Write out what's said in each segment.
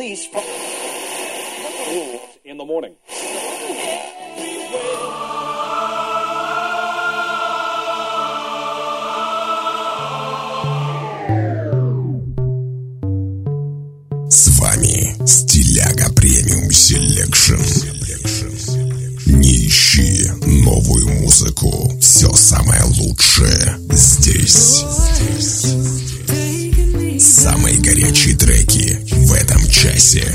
release from in the morning. С вами Стиляга Премиум Селекшн. Не ищи новую музыку. Все самое лучшее здесь. Самые горячие треки в этом часе.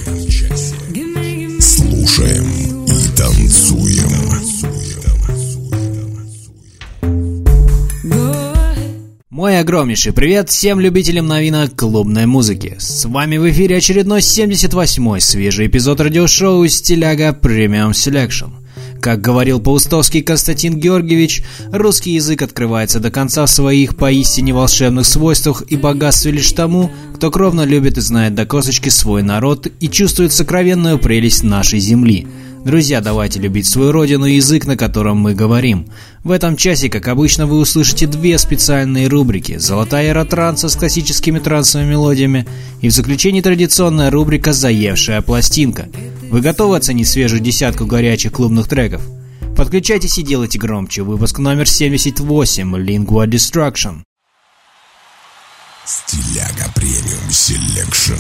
Слушаем и танцуем. Мой огромнейший привет всем любителям новинок клубной музыки. С вами в эфире очередной 78-й свежий эпизод радиошоу «Стиляга Премиум Селекшн». Как говорил паустовский Константин Георгиевич, русский язык открывается до конца в своих поистине волшебных свойствах и богатстве лишь тому, кто кровно любит и знает до косточки свой народ и чувствует сокровенную прелесть нашей земли. Друзья, давайте любить свою родину и язык, на котором мы говорим. В этом часе, как обычно, вы услышите две специальные рубрики: «Золотая эра транса» с классическими трансовыми мелодиями и в заключении традиционная рубрика «Заевшая пластинка». Вы готовы оценить свежую десятку горячих клубных треков? Подключайтесь и делайте громче. Выпуск номер 78 «Lingua Destruction». Стиляга Премиум Селекшн.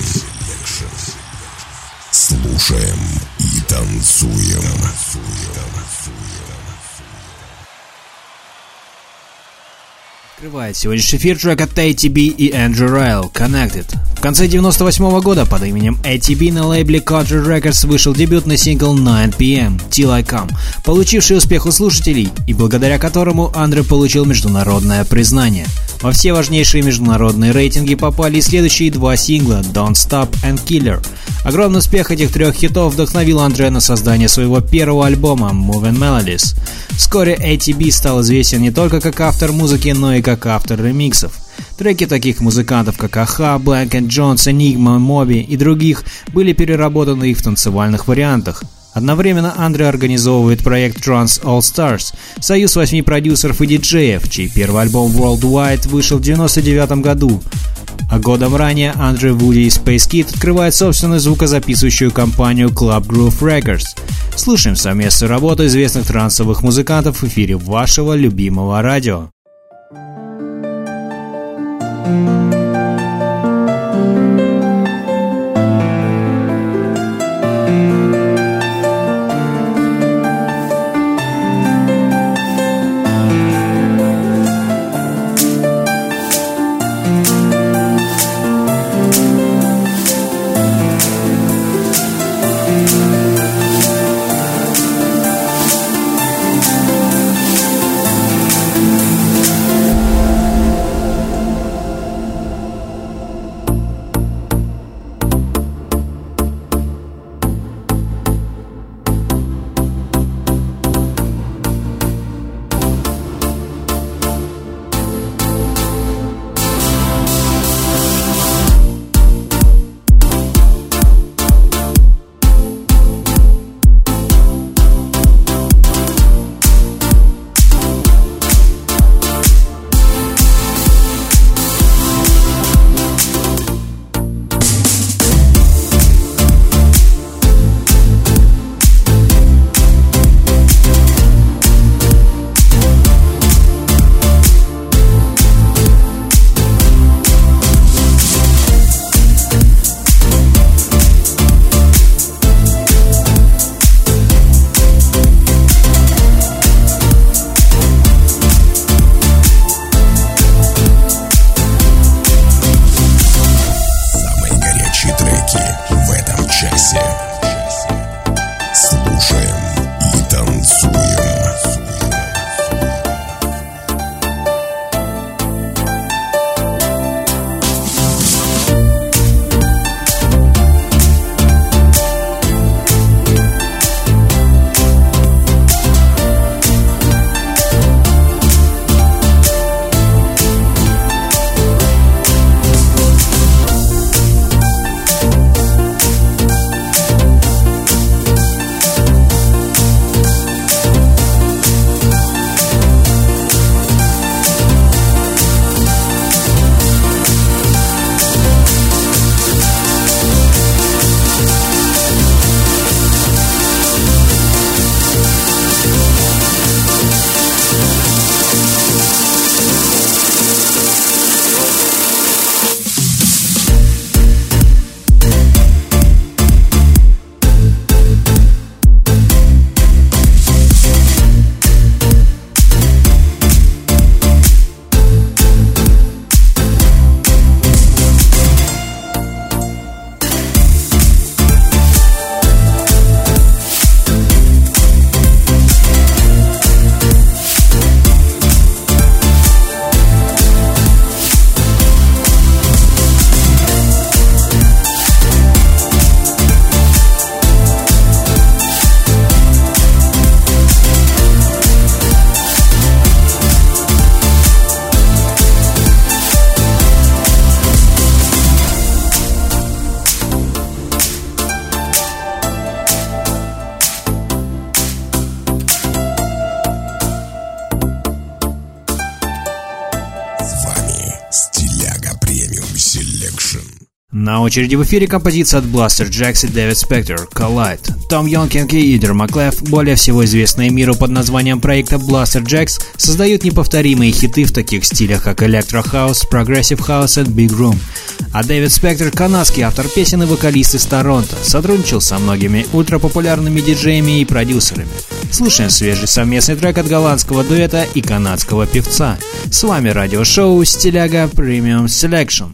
Слушаем и танцуем. Открывает сегодняшний эфир трек от ATB и Andrew Ryle «Connected». В конце 98 года под именем ATB на лейбле Country Records вышел дебютный сингл 9 PM Till I Come, получивший успех у слушателей и благодаря которому Андре получил международное признание. Во все важнейшие международные рейтинги попали и следующие два сингла «Don't Stop» и «Killer». Огромный успех этих трех хитов вдохновил Андре на создание своего первого альбома «Moving Melodies». Вскоре ATB стал известен не только как автор музыки, но и как автор ремиксов. Треки таких музыкантов, как Аха, Blank & Jones, Enigma, Моби и других были переработаны и в танцевальных вариантах. Одновременно Андре организовывает проект Trance All Stars, союз 8 продюсеров и диджеев, чей первый альбом Worldwide вышел в 1999 году. А годом ранее Андре Вуди и Space Kid открывают собственную звукозаписывающую компанию Club Groove Records. Слушаем совместную работу известных трансовых музыкантов в эфире вашего любимого радио. На очереди в эфире композиция от Blaster Jacks и David Spector «Collide». Том Йонкинг и Идер Маклеф, более всего известные миру под названием проекта Blaster Jacks, создают неповторимые хиты в таких стилях, как Electro House, Progressive House и Big Room. А Дэвид Спектор, канадский автор песен и вокалист из Торонто, сотрудничал со многими ультрапопулярными диджеями и продюсерами. Слушаем свежий совместный трек от голландского дуэта и канадского певца. С вами радиошоу «Стиляга Premium Selection».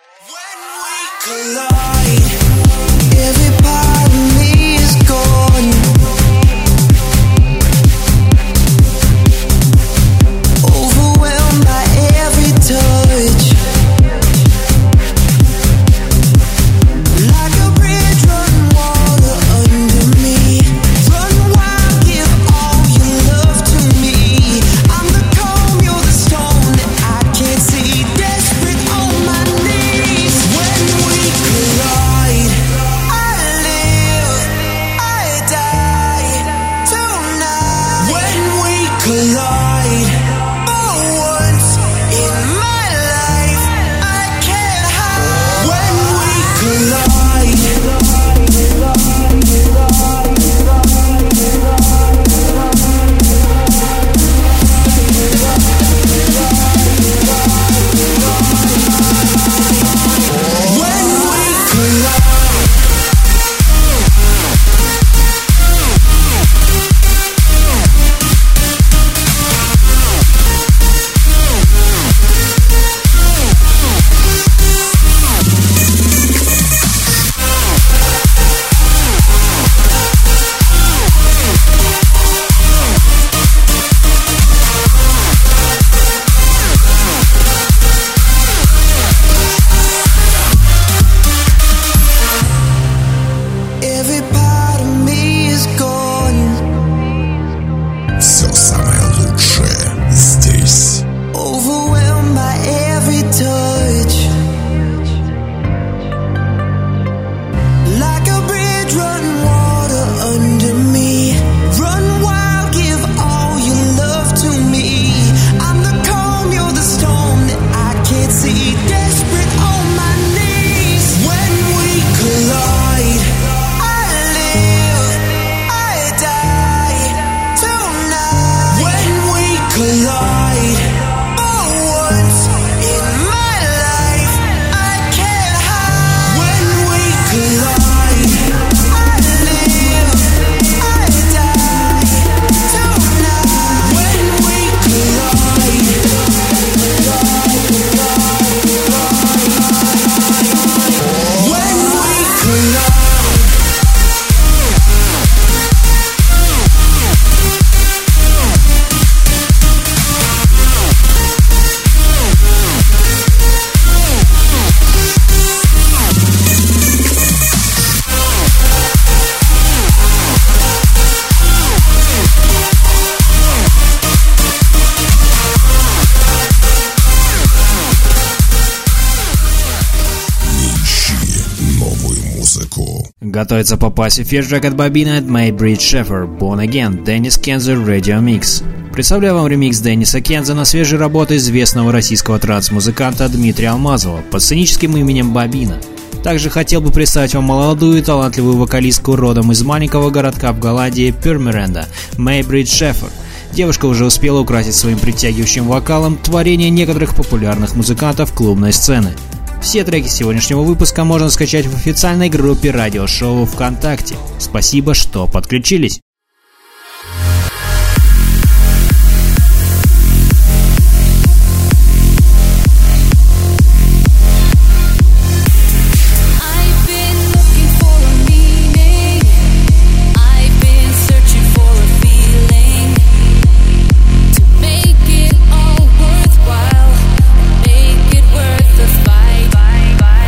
Готовится попасть в эфир трек от Бобина от Maybridge Sheffer «Born Again» Деннис Кенза Radio Mix. Представляю вам ремикс Денниса Кенза на свежей работе известного российского транс-музыканта Дмитрия Алмазова под сценическим именем Бобина. Также хотел бы представить вам молодую и талантливую вокалистку родом из маленького городка в Голландии Пюрмеренда Maybridge Sheffer. Девушка уже успела украсить своим притягивающим вокалом творение некоторых популярных музыкантов клубной сцены. Все треки сегодняшнего выпуска можно скачать в официальной группе радиошоу ВКонтакте. Спасибо, что подключились.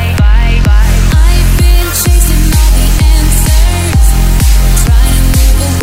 Chasing all the answers, trying to move away.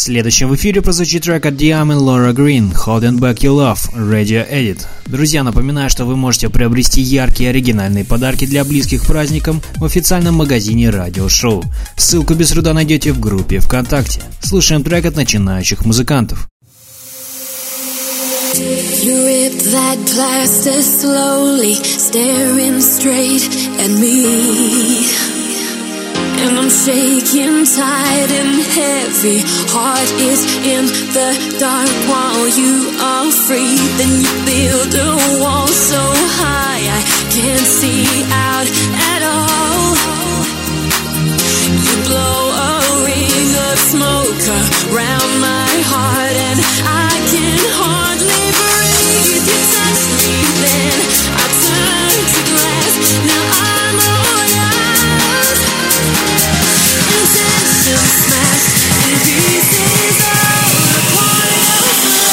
Следующим в эфире прозвучит трек от Diam и Laura Green «Holding Back Your Love» Radio Edit. Друзья, напоминаю, что вы можете приобрести яркие оригинальные подарки для близких праздникам в официальном магазине радиошоу. Ссылку без труда найдете в группе ВКонтакте. Слушаем трек от начинающих музыкантов. You rip that plaster slowly, staring straight at me. And I'm shaking tight and heavy. Heart is in the dark while you are free. Then you build a wall so high I can't see out at all. You blow a ring of smoke around my heart and I can hardly breathe. You touch me, then I turn to glass. Now I'm all yours. Intention smashed in pieces all upon your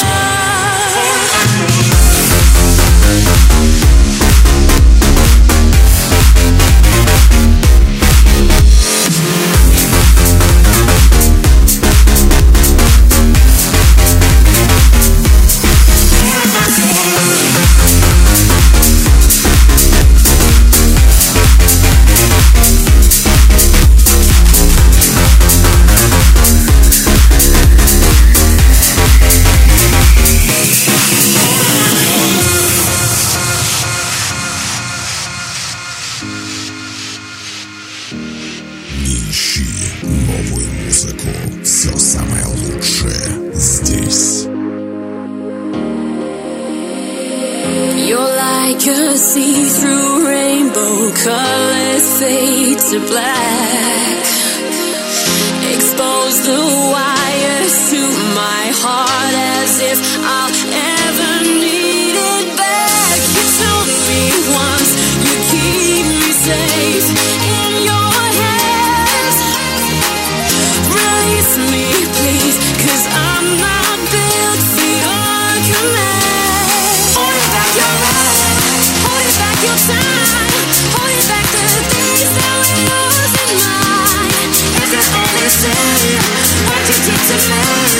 see-through rainbow, colors fade to black. Expose the wires to my heart as if I'll ever need it back. You told me once you'd keep me safe in your hands. Release me, please, 'cause I'm not built for your command. Hold back your love, hold back your time, hold back the things that were yours and mine. If you only say what you did to me.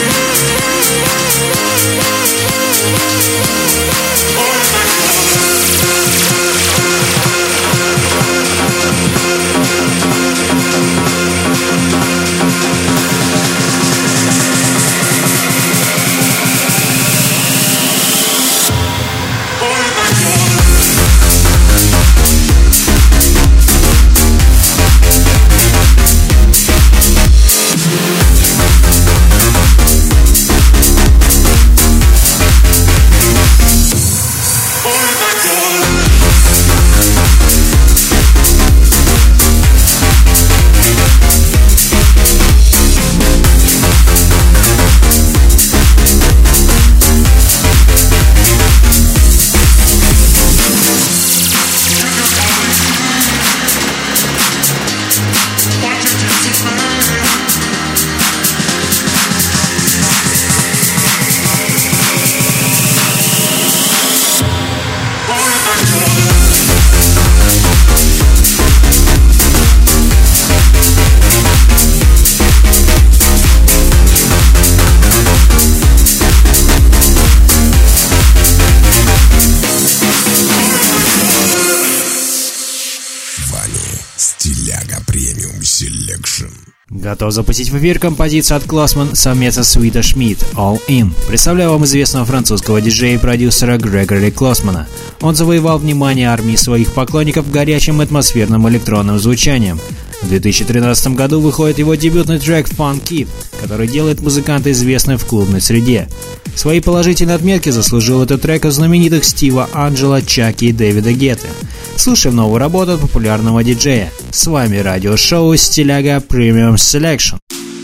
Готов запустить в эфир композицию от Klossman совместно с Свита Шмидт «All In». Представляю вам известного французского диджея и продюсера Грегори Клоссмана. Он завоевал внимание армии своих поклонников горячим атмосферным электронным звучанием. В 2013 году выходит его дебютный трек «Fun Kid», который делает музыканта известным в клубной среде. Свои положительные отметки заслужил этот трек от знаменитых Стива Анджела, Чаки и Дэвида Гетты. Слушаем новую работу от популярного диджея. С вами радиошоу «Стиляга Premium Selection».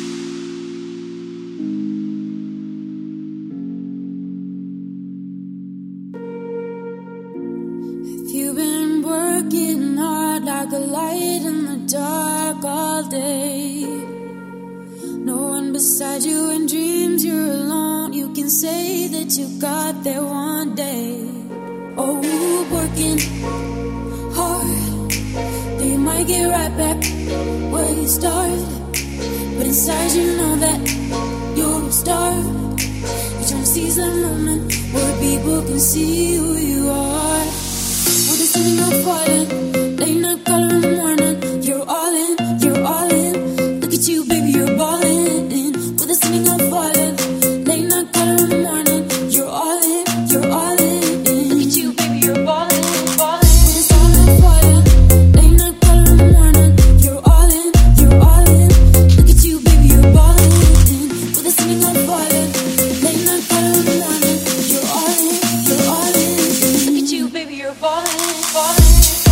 Beside you in dreams, you're alone. You can say that you got there one day. Oh, working hard, then you might get right back where you started. But inside you know that you're star. You're trying to seize that moment where people can see who you are. With the sun not falling, late night color in the morning. You're all in, you're all in. Look at you, baby, you're balling. With the sun not falling, late night color in the morning. You're all in, you're all in. Look at you, baby, you're balling, balling. With the sun not falling, late night color in the morning. You're all in, you're all in. Look at you, baby, you're balling. With the sun not falling, late night color in the morning. You're all in, you're all in. Look at you, baby, you're balling, balling.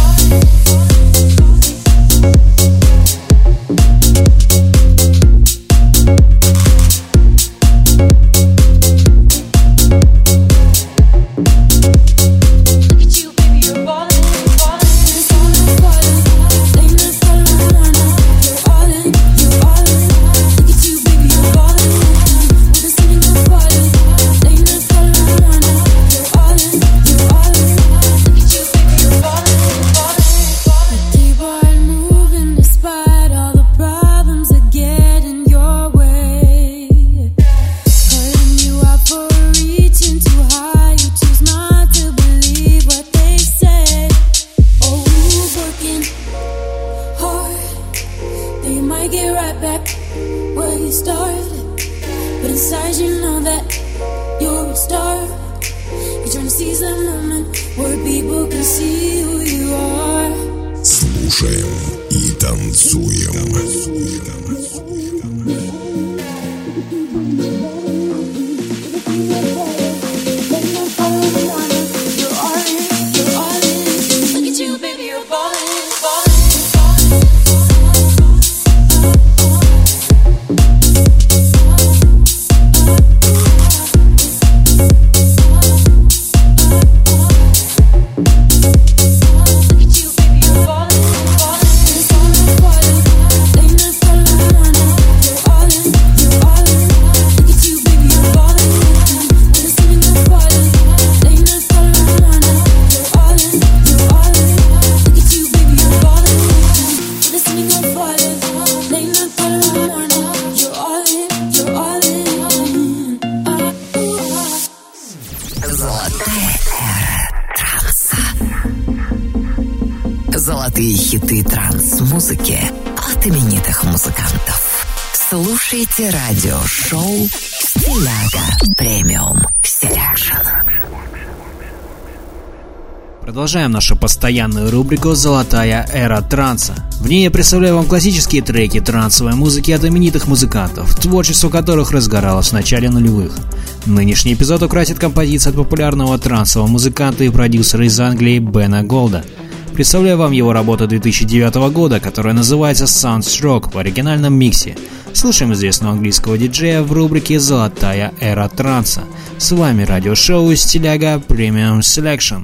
Слушаем и танцуем. Золотые хиты транс-музыки от именитых музыкантов. Слушайте радиошоу «Стиляга Премиум Селекшн». Продолжаем нашу постоянную рубрику «Золотая эра транса». В ней я представляю вам классические треки трансовой музыки от именитых музыкантов, творчество которых разгоралось в начале нулевых. Нынешний эпизод украсит композиция от популярного трансового музыканта и продюсера из Англии Бена Голда. Представляю вам его работу 2009 года, которая называется Sunstroke в оригинальном миксе. Слушаем известного английского диджея в рубрике «Золотая эра транса». С вами радиошоу «Стиляга Премиум Селекшн».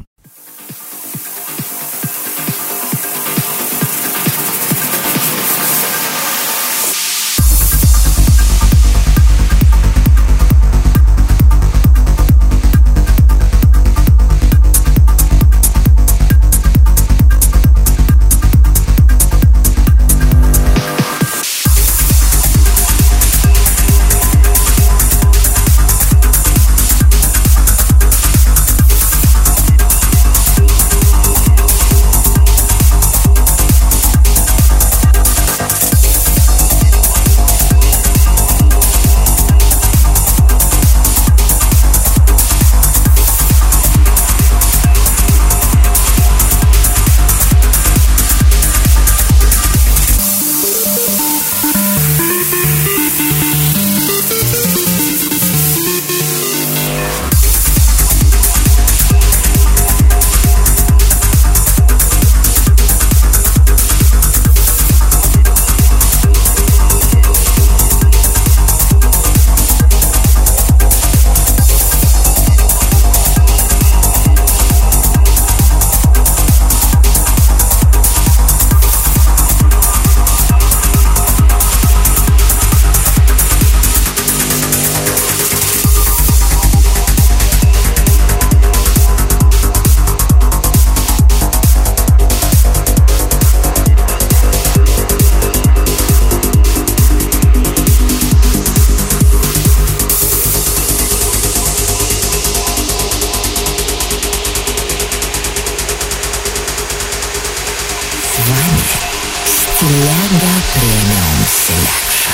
Стиляга Премиум Селекшн.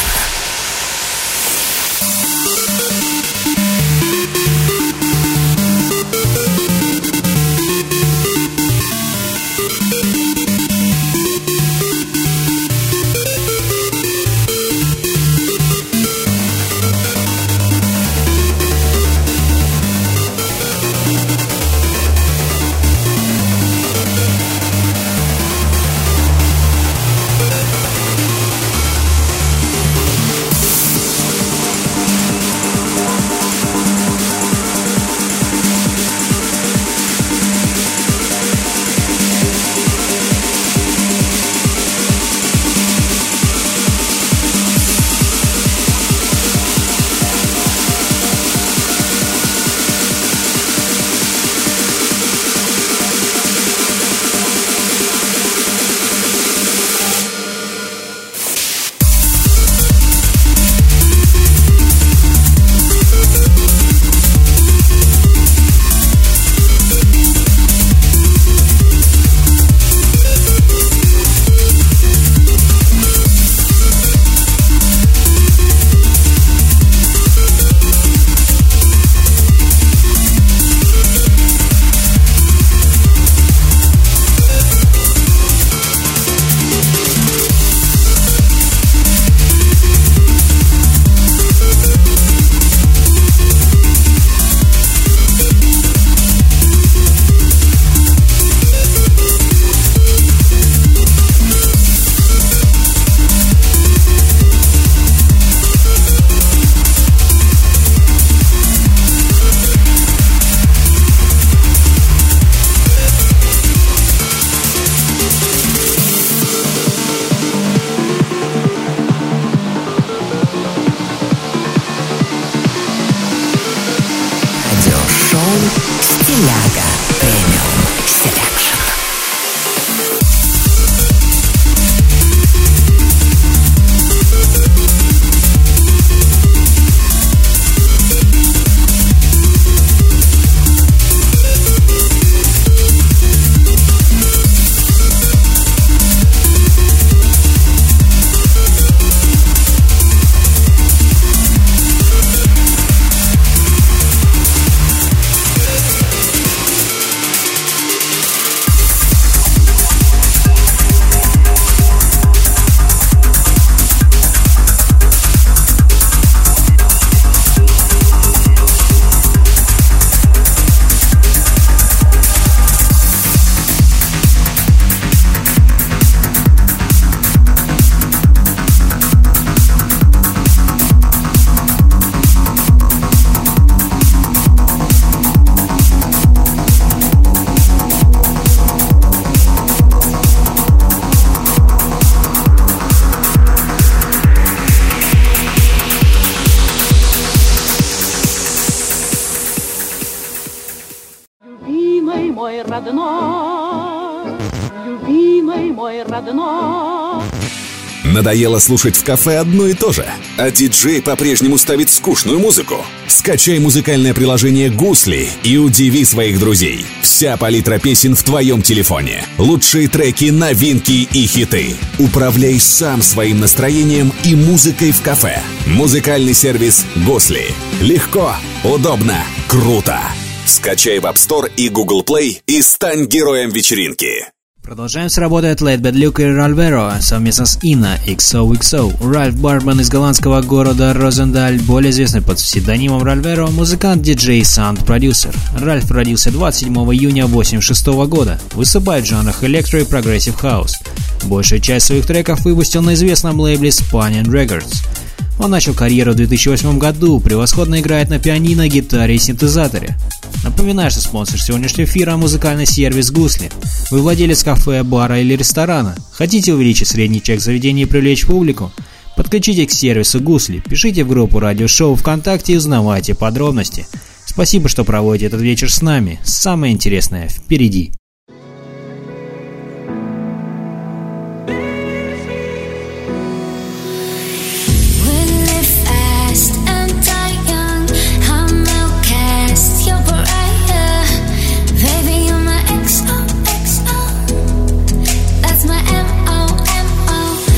Стиляга Премиум Селекшн. Надоело слушать в кафе одно и то же, а диджей по-прежнему ставит скучную музыку? Скачай музыкальное приложение «Гусли» и удиви своих друзей. Вся палитра песен в твоем телефоне. Лучшие треки, новинки и хиты. Управляй сам своим настроением и музыкой в кафе. Музыкальный сервис «Гусли». Легко, удобно, круто. Скачай в App Store и Google Play и стань героем вечеринки. Продолжаем с работой от Late Bad Luke и Ральверо совместно с Инна XOXO. Ральф Бартман из голландского города Розендаль, более известный под псевдонимом Ральверо, музыкант, диджей, саунд-продюсер. Ральф родился 27 июня 1986 года, выступает в жанрах электро и прогрессив хаус. Большую часть своих треков выпустил на известном лейбле Spanian Records. Он начал карьеру в 2008 году, превосходно играет на пианино, гитаре и синтезаторе. Напоминаю, что спонсор сегодняшнего эфира – музыкальный сервис «Гусли». Вы владелец кафе, бара или ресторана? Хотите увеличить средний чек заведения и привлечь публику? Подключите к сервису «Гусли», пишите в группу радиошоу ВКонтакте и узнавайте подробности. Спасибо, что проводите этот вечер с нами. Самое интересное впереди. That's my MO.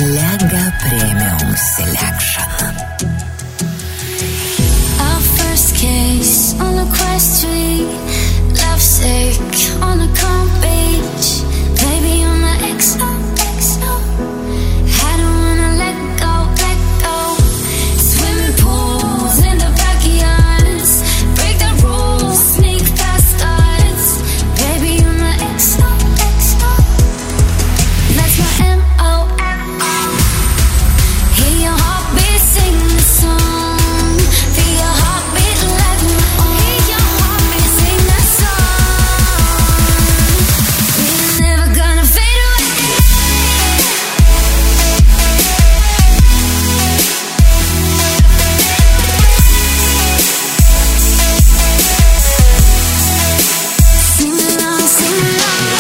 Lega Premium Selection. Our first kiss on a quest street, lovesick on a calm beach, baby on the XO. I don't wanna let go. Swimming pools in the backyards, break the rules, sneak past us, baby on the XO. That's my MO. Hear your heartbeat sing the song, feel your heartbeat like my own. Hear your heartbeat sing the song. We're never gonna fade away. Sing along, sing along.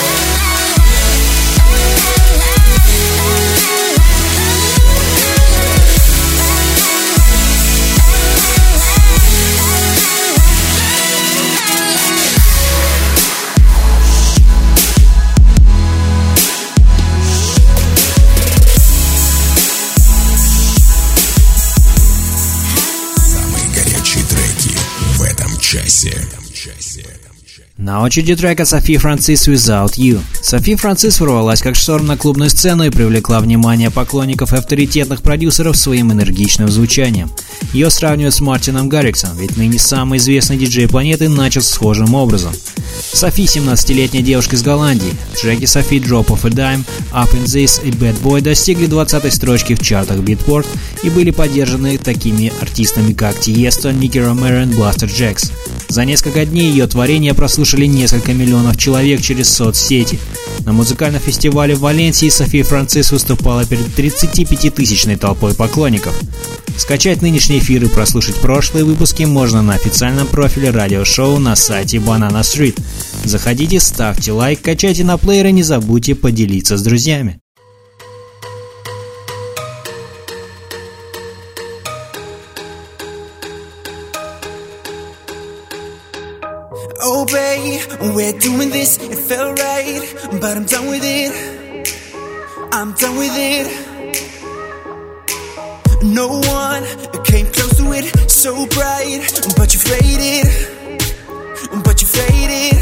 Самые горячие треки в этом часе. На очереди трека Софи Франсис «Without You». Софи Франсис ворвалась как шторм на клубную сцену и привлекла внимание поклонников и авторитетных продюсеров своим энергичным звучанием. Ее сравнивают с Мартином Гарриксом, ведь ныне самый известный диджей планеты начал схожим образом. Софи, 17-летняя девушка из Голландии. Треки Софи «Drop of a Dime», «Up in This» и «Bad Boy» достигли 20-й строчки в чартах Beatport и были поддержаны такими артистами, как Тиесто, Ники Ромеро и Blaster Jacks. За несколько дней ее творения прослушали несколько миллионов человек через соцсети. На музыкальном фестивале в Валенсии Софи Франсис выступала перед 35-тысячной толпой поклонников. Скачать нынешний эфир и прослушать прошлые выпуски можно на официальном профиле радиошоу на сайте Banana Street. Заходите, ставьте лайк, качайте на плеер и не забудьте поделиться с друзьями. Oh babe, we're doing this, it felt right, but I'm done with it, I'm done with it. No one came close to it, so bright, but you faded, but you faded.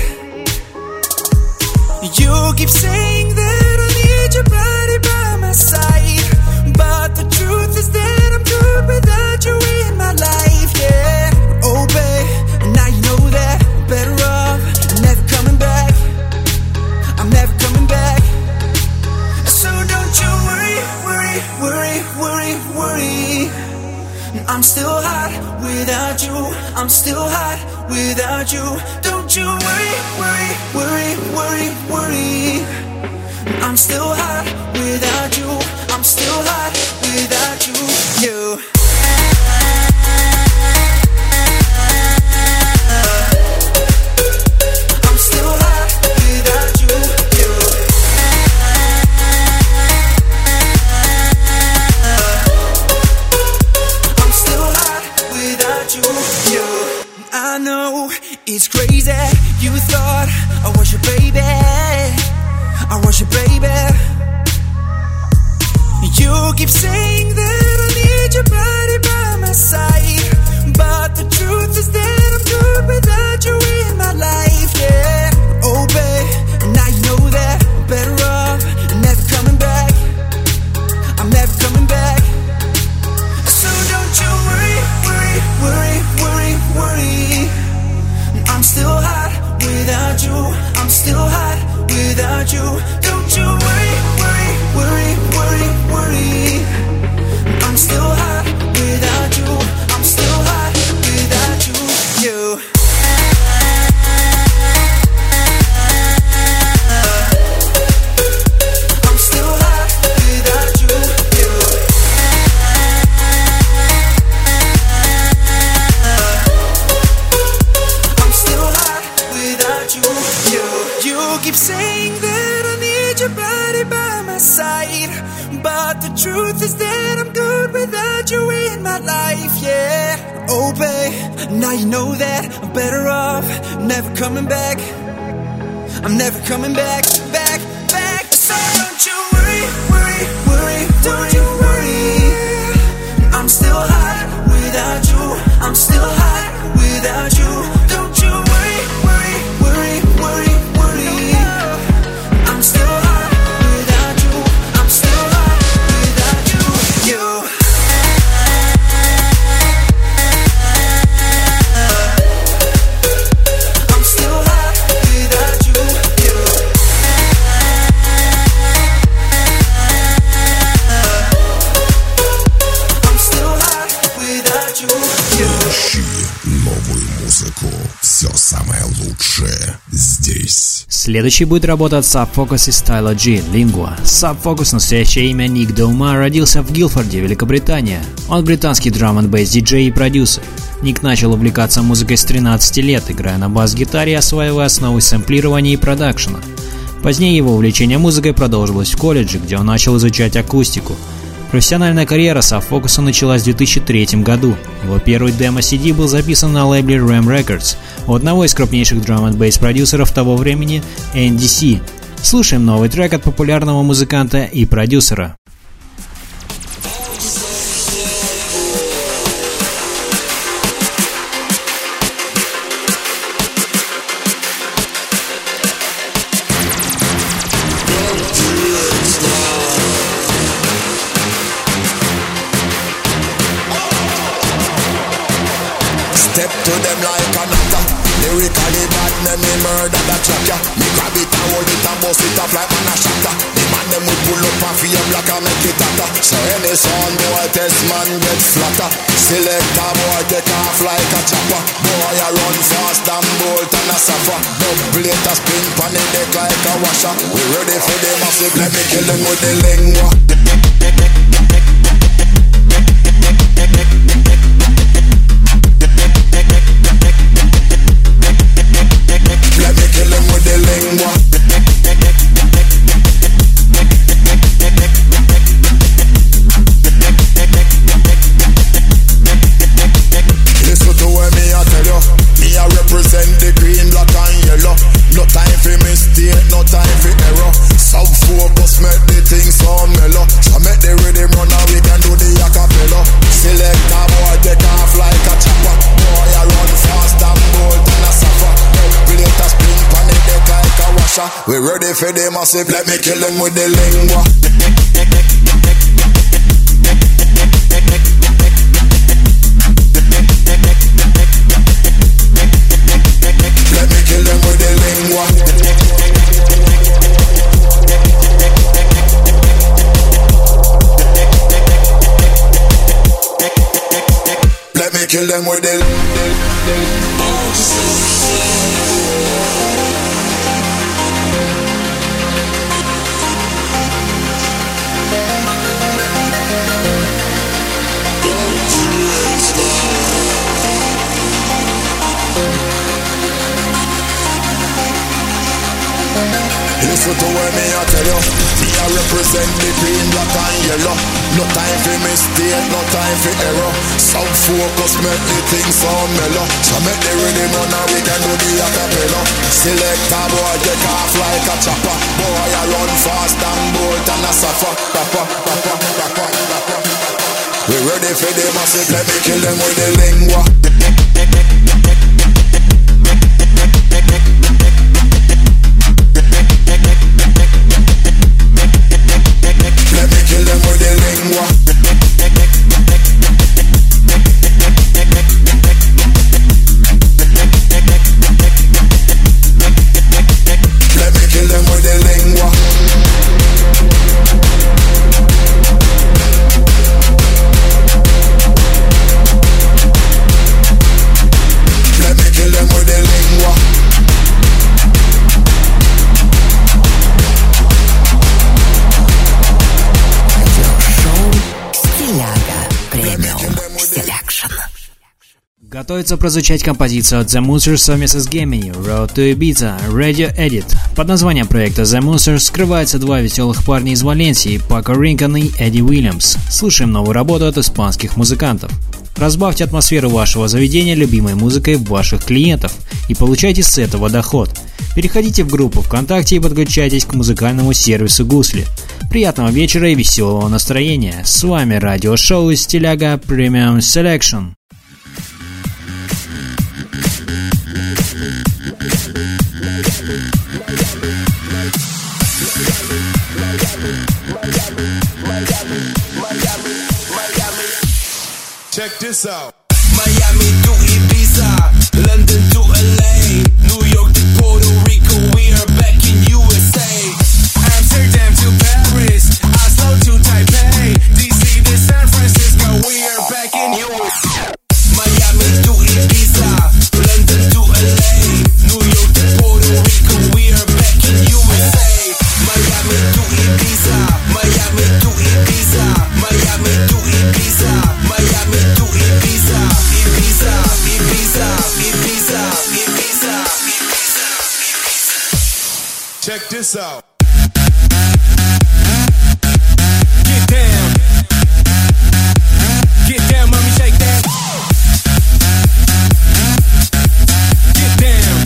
You keep saying that I need your body by my side, but the truth is that I'm good without you in my life, yeah. Oh babe, now you know that I'm better off never coming back, I'm never coming back. So don't you worry, worry, worry, worry, worry. I'm still hot without you, I'm still hot without you. Don't you worry, worry, worry, worry, worry. I'm still hot without you, I'm still hot without you, you. I'm still hot without you, you. I'm still hot without you, you. I know it's crazy, you thought I was your baby, I was your baby. You keep saying that I need your body by my side, but the truth is that I'm good without you in my life, yeah. Oh babe, now you know that I'm better off never coming back, I'm never coming back. So don't you worry, worry, worry, worry, worry. I'm still hot without you, I'm still hot without you. Don't you worry, worry, worry, worry, worry. I'm still hot without you, I'm still hot without you, you. I'm still hot without you, you. I'm still hot without you, you. You keep saying that I need your body by my side, but the truth is that I'm good without you in my life, yeah. Oh babe, now you know that I'm better off never coming back, I'm never coming back, back, back. So don't you worry, worry, worry, Следующий будет работа от Subfocus и Stylo G, Lingua. Subfocus, настоящее имя Ник Доума, родился в Гилфорде, Великобритания. Он британский драм-н-бейс диджей и продюсер. Ник начал увлекаться музыкой с 13 лет, играя на бас-гитаре и осваивая основы сэмплирования и продакшена. Позднее его увлечение музыкой продолжилось в колледже, где он начал изучать акустику. Профессиональная карьера Subfocus началась в 2003 году. Его первый демо-CD был записан на лейбле Ram Records у одного из крупнейших драм-н-бейс продюсеров того времени NDC. Слушаем новый трек от популярного музыканта и продюсера. Step to them like a nutter. Lyrically bad, name me murder that track ya. Me grab it and hold it and bust it off like man a shatter. The man them will pull up and feel black and make it hotter. So any sound boy test man get flatter. Select a boy take off like a chopper. Boy a run fast and bolt and a suffer. Double it a spin pan the deck like a washer. We ready for the massive, let me kill them with the lingua. Let me kill him with the lingua. Listen to what me I tell you. Me I represent the green, black and yellow. No time for mistake, no time for error. Subfocus make the thing sound mellow. So make the rhythm run and we can do the acapella. Select a boy take off like a chopper. Boy I run fast and bolt and a suffer. Plate a spin pan the deck like a washer. We ready for the massive, let me kill them with the lingua. Let me kill them with the lingua. Let me kill them with the Listen to what me I tell you. Me I represent the green, black and yellow. No time for mistake, no time for error. Subfocus make the thing sound mellow. So make the rhythm run and we can do the acapella. Select a boy take off like a chopper. Boy I run fast and bolt and a suffer. We ready for the massive, let me kill them with the lingua. Let me kill them with the lingua. Let me kill them with the lingua. Let me kill them with the lingua. Готовится прозвучать композицию от The Moonsers совместно с Gemini, Road to Ibiza, Radio Edit. Под названием проекта The Moonsers скрываются два веселых парня из Валенсии, Пако Ринкон и Эдди Уильямс. Слушаем новую работу от испанских музыкантов. Разбавьте атмосферу вашего заведения любимой музыкой ваших клиентов и получайте с этого доход. Переходите в группу ВКонтакте и подключайтесь к музыкальному сервису Гусли. Приятного вечера и веселого настроения. С вами радиошоу из Стиляга Premium Selection. Check this out. Miami to Ibiza, London to LA, New York to Puerto Rico, we are back in USA. Amsterdam to Paris, Oslo to Taipei, DC to San Francisco, we are back in USA. Miami to Ibiza, London to LA, New York to Puerto Rico, we are back Check this out. Get down. Get down, mommy, shake that. Get down.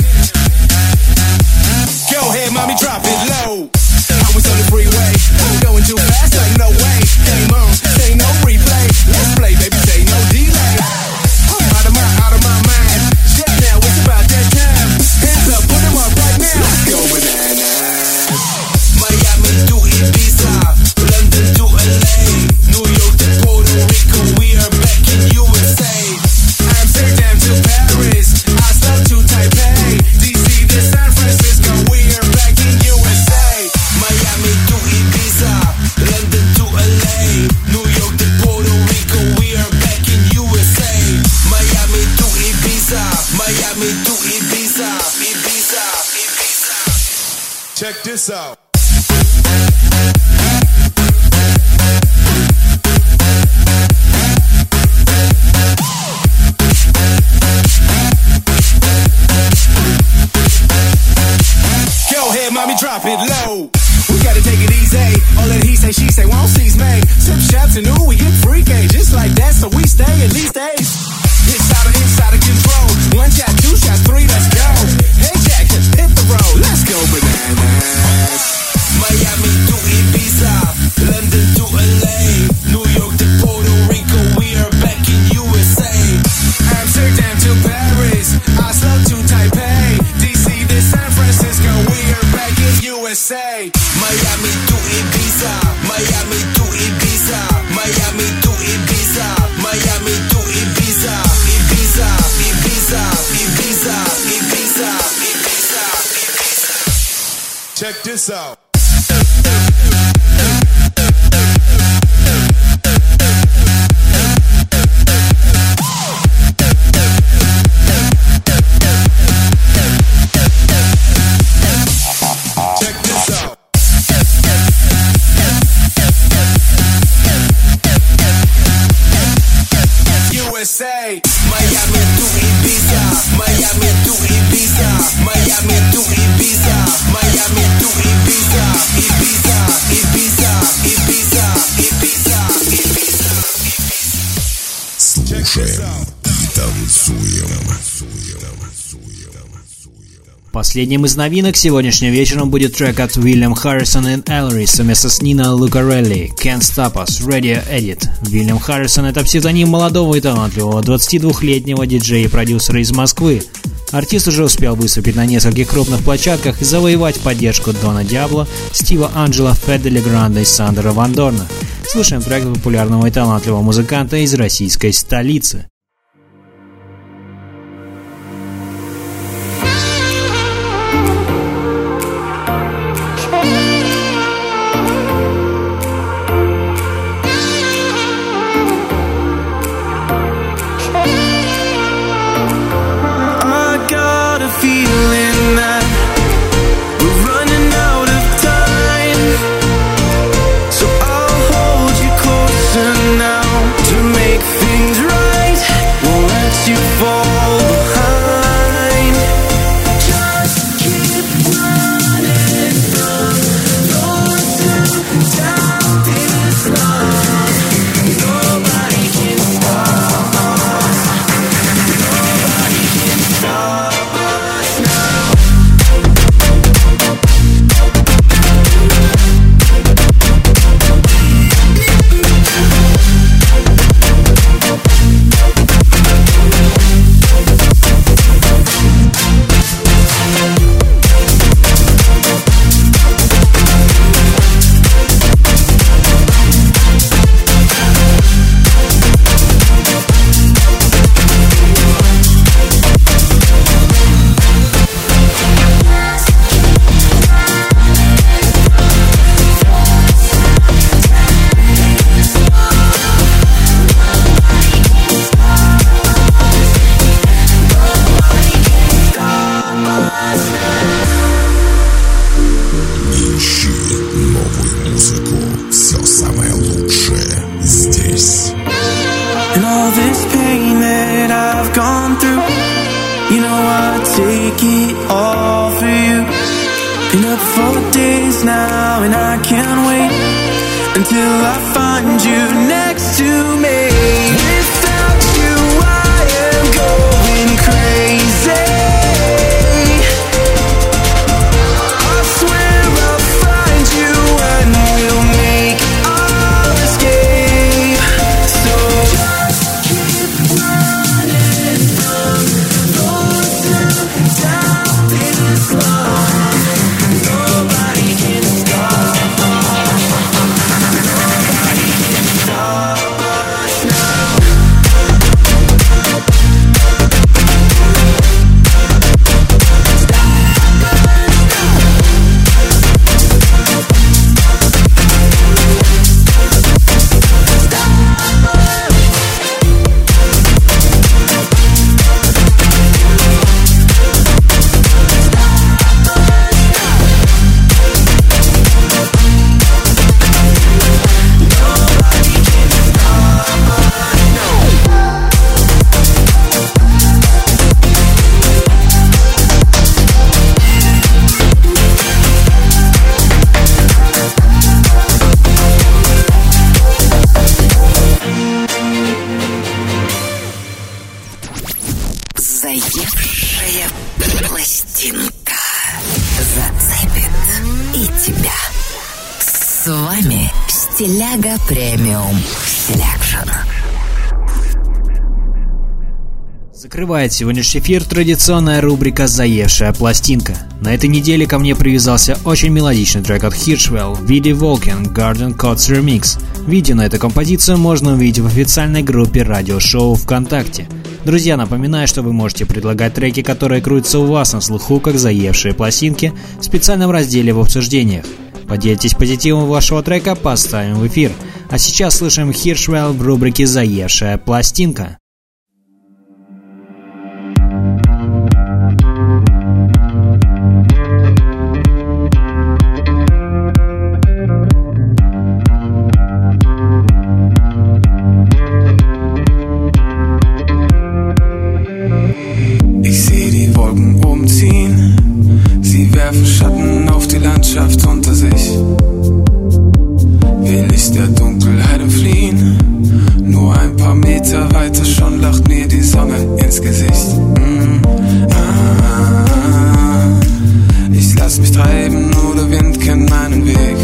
Go ahead, mommy, drop it low. I was on the freeway, going too fast, like no way. Game on, say no replay. Let's play, baby, say no delay. I'm out of my mind. Yeah, now it's about that time. Hands up, put them up right now. Let's go bananas. Miami to Ibiza, London to LA, New York to Puerto Rico. We are back in USA. Amsterdam to Paris, Oslo to Taipei, DC to San Francisco. We are back in USA. Miami to Ibiza, London to LA, New York to Puerto Rico. We are back in USA. Miami to Ibiza, Miami to Ibiza, Ibiza, Ibiza. Check this out. Go ahead, mommy, drop it low. We gotta take it easy. All that he say, she say, won't seize me. Sip shots and ooh, we get freaky. Just like that, so we stay at least days. Inside of control. One shot, two shots, three, let's go. Hey Jack, hit the road. Let's go bananas. Miami to Ibiza, London to LA, New York to Puerto Rico. We are back in USA. Amsterdam to Paris, Oslo to Taipei, DC to San Francisco. We are back in USA. Miami to Ibiza, Miami to Ibiza, Miami to Ibiza, Miami to Ibiza, Ibiza, Ibiza, Ibiza, Ibiza, Ibiza, Ibiza. Check this out. USA, Miami to Ibiza, Miami to Ibiza, Miami to Ibiza, Miami to Ibiza, Ibiza, Ibiza, Ibiza, Ibiza, Ibiza. Слушаем и танцуем. Последним из новинок сегодняшним вечером будет трек от William Harrison и Ellery совместно с Нино Лукарелли «Can't Stop Us» Radio Edit. William Harrison — это псевдоним молодого и талантливого 22-летнего диджея и продюсера из Москвы. Артист уже успел выступить на нескольких крупных площадках и завоевать поддержку Дона Диабло, Стива Анджело, Федда Легранда и Сандера Ван Дорна. Слушаем трек популярного и талантливого музыканта из российской столицы. You know I'd take it all for you. Been up for days. till I find you next to me. Without you I am going crazy. I swear I'll find you and we'll make our escape. So just keep running from those who doubt this love. Nobody can stop. Nobody can stop us now. Заевшая пластинка зацепит и тебя. С вами Стиляга Премиум Селекшн. Закрывает сегодняшний эфир традиционная рубрика «Заевшая пластинка». На этой неделе ко мне привязался очень мелодичный трек от Hirschwell в виде Walking Garden Codes Remix. Видео на эту композицию можно увидеть в официальной группе радиошоу ВКонтакте. Друзья, напоминаю, что вы можете предлагать треки, которые крутятся у вас на слуху, как «Заевшие пластинки», в специальном разделе в обсуждениях. Поделитесь позитивом вашего трека, поставим в эфир. А сейчас слышим Hirschwell в рубрике «Заевшая пластинка». Ich seh die Wolken umziehen, sie werfen Schatten auf die Landschaft unter sich. Will ich der Dunkelheit entfliehen, nur ein paar Meter weiter schon lacht mir die Sonne ins Gesicht. Ich lass mich treiben, nur der Wind kennt meinen Weg.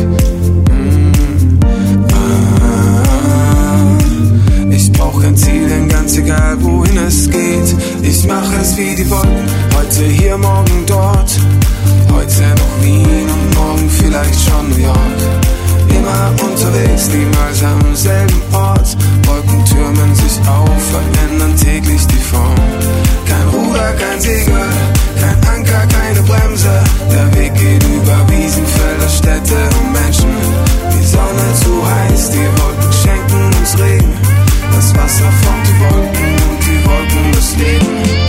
Ich brauch kein Ziel, denn ganz egal wohin es geht, ich mach es wie die Wolken, heute hier, morgen dort. Heute noch Wien und morgen vielleicht schon New York. Immer unterwegs, niemals am selben Ort. Wolken türmen sich auf, verändern täglich die Form. Kein Ruder, kein Segel, kein Anker, keine Bremse. Der Weg geht über Wiesen, Felder, Städte und Menschen. Die Sonne zu heiß, die Wolken schenken uns Regen. Das Wasser formt die Wolken und die Wolken das Leben.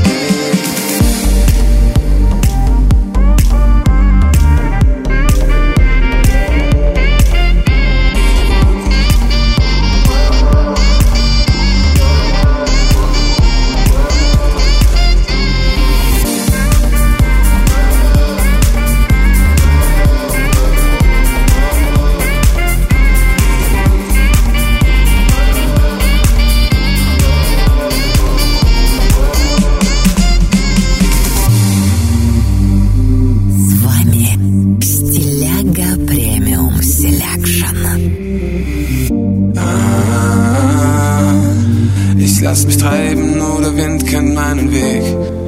Lass mich treiben, nur der Wind kennt meinen Weg.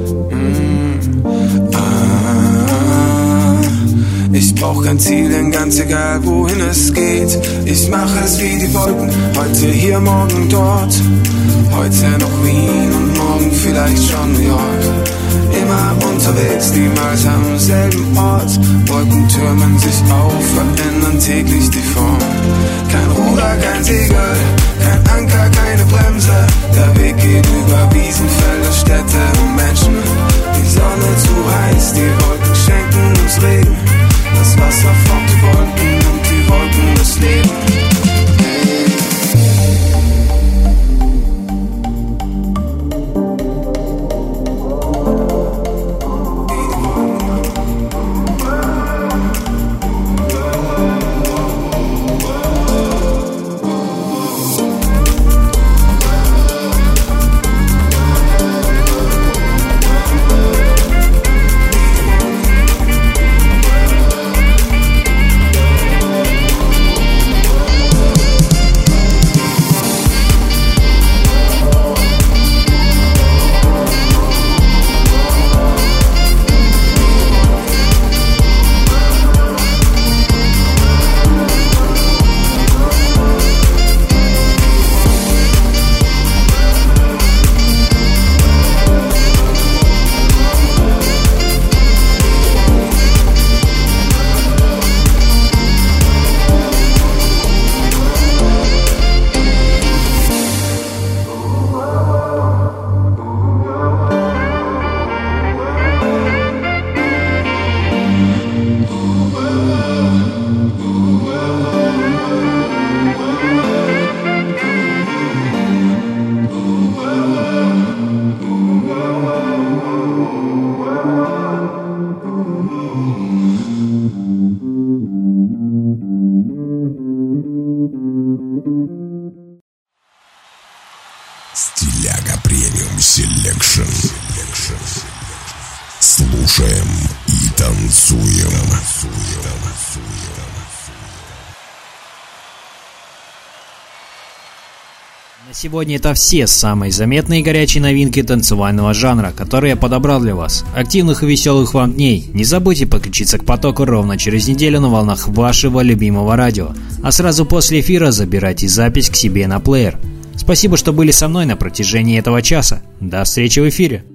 Ich brauch kein Ziel, denn ganz egal wohin es geht, ich mache es wie die Wolken, heute hier, morgen dort. Heute noch Wien und morgen vielleicht schon New York. Immer unterwegs, niemals am selben Ort. Wolken türmen sich auf, verändern täglich die Form. Kein Ruder, kein Segel, kein Anker, keine Bremse. Der Weg geht über Wiesen, Felder, Städte und Menschen. Die Sonne zu heiß, die Wolken schenken uns Regen. Das Wasser formt die Wolken und die Wolken das Leben. Стиляга премиум селекшн. Слушаем и танцуем. На сегодня это все самые заметные и горячие новинки танцевального жанра, которые я подобрал для вас. Активных и веселых вам дней. Не забудьте подключиться к потоку ровно через неделю на волнах вашего любимого радио. А сразу после эфира забирайте запись к себе на плеер. Спасибо, что были со мной на протяжении этого часа. До встречи в эфире.